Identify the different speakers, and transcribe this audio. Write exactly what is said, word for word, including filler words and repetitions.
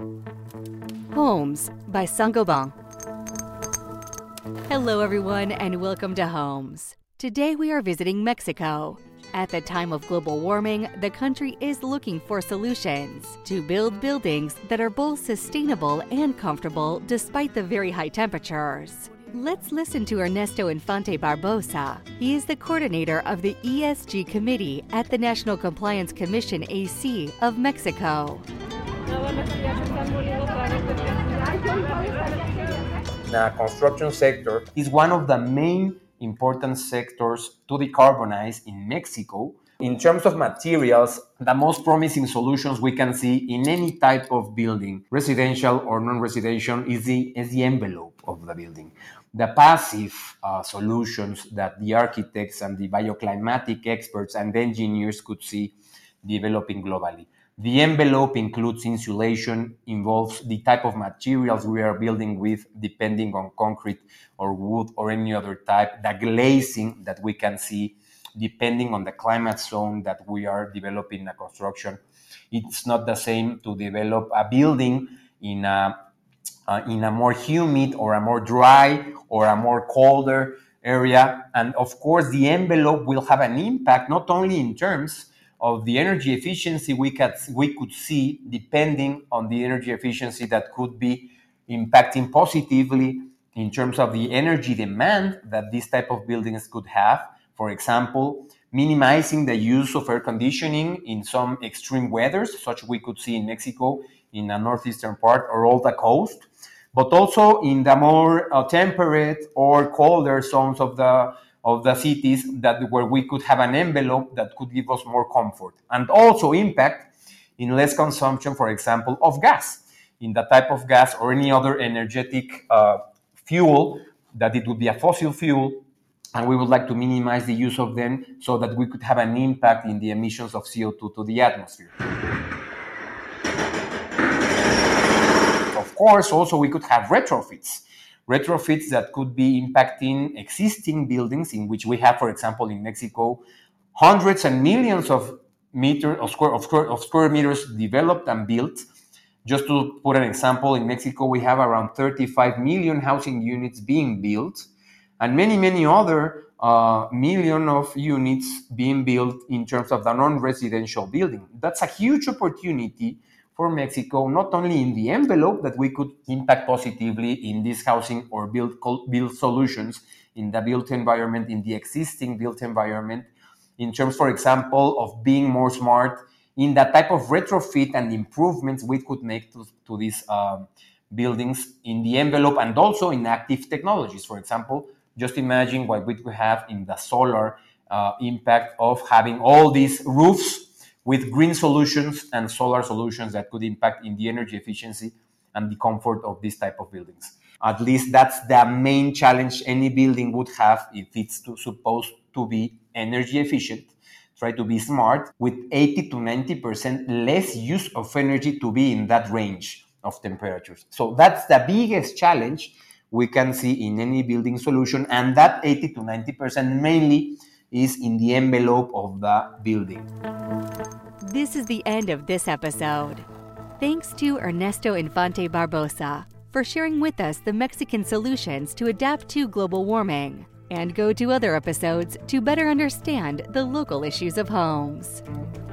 Speaker 1: Homes by Saint-Gobain. Hello everyone and welcome to Homes. Today we are visiting Mexico. At the time of global warming, the country is looking for solutions to build buildings that are both sustainable and comfortable despite the very high temperatures. Let's listen to Ernesto Infante Barbosa. He is the coordinator of the E S G Committee at the National Compliance Commission A C of Mexico.
Speaker 2: The construction sector is one of the main important sectors to decarbonize in Mexico. In terms of materials, the most promising solutions we can see in any type of building, residential or non-residential, is the, is the envelope of the building. The passive uh, solutions that the architects and the bioclimatic experts and engineers could see developing globally. The envelope includes insulation, involves the type of materials we are building with, depending on concrete or wood or any other type, the glazing that we can see, depending on the climate zone that we are developing a construction. It's not the same to develop a building in a, uh, in a more humid or a more dry or a more colder area. And of course, the envelope will have an impact, not only in terms of the energy efficiency we could, we could see, depending on the energy efficiency that could be impacting positively in terms of the energy demand that this type of buildings could have. For example, minimizing the use of air conditioning in some extreme weathers, such we could see in Mexico, in the northeastern part or all the coast, but also in the more uh, temperate or colder zones of the of the cities that where we could have an envelope that could give us more comfort and also impact in less consumption, for example, of gas, in the type of gas or any other energetic uh, fuel that it would be a fossil fuel, and we would like to minimize the use of them so that we could have an impact in the emissions of C O two to the atmosphere. Of course, also we could have retrofits. Retrofits that could be impacting existing buildings in which we have, for example, in Mexico, hundreds and millions of meters of square, of square, of square meters developed and built. Just to put an example, in Mexico, we have around thirty-five million housing units being built and many, many other uh, million of units being built in terms of the non-residential building. That's a huge opportunity for Mexico, not only in the envelope that we could impact positively in this housing or build, build solutions in the built environment, in the existing built environment, in terms, for example, of being more smart in the type of retrofit and improvements we could make to, to these um, buildings in the envelope and also in active technologies. For example, just imagine what we could have in the solar uh, impact of having all these roofs with green solutions and solar solutions that could impact in the energy efficiency and the comfort of this type of buildings. At least that's the main challenge any building would have if it's to, supposed to be energy efficient, try to be smart, with eighty to ninety percent less use of energy to be in that range of temperatures. So that's the biggest challenge we can see in any building solution, and that eighty to ninety percent mainly is in the envelope of the building.
Speaker 1: This is the end of this episode. Thanks to Ernesto Infante Barbosa for sharing with us the Mexican solutions to adapt to global warming. And go to other episodes to better understand the local issues of homes.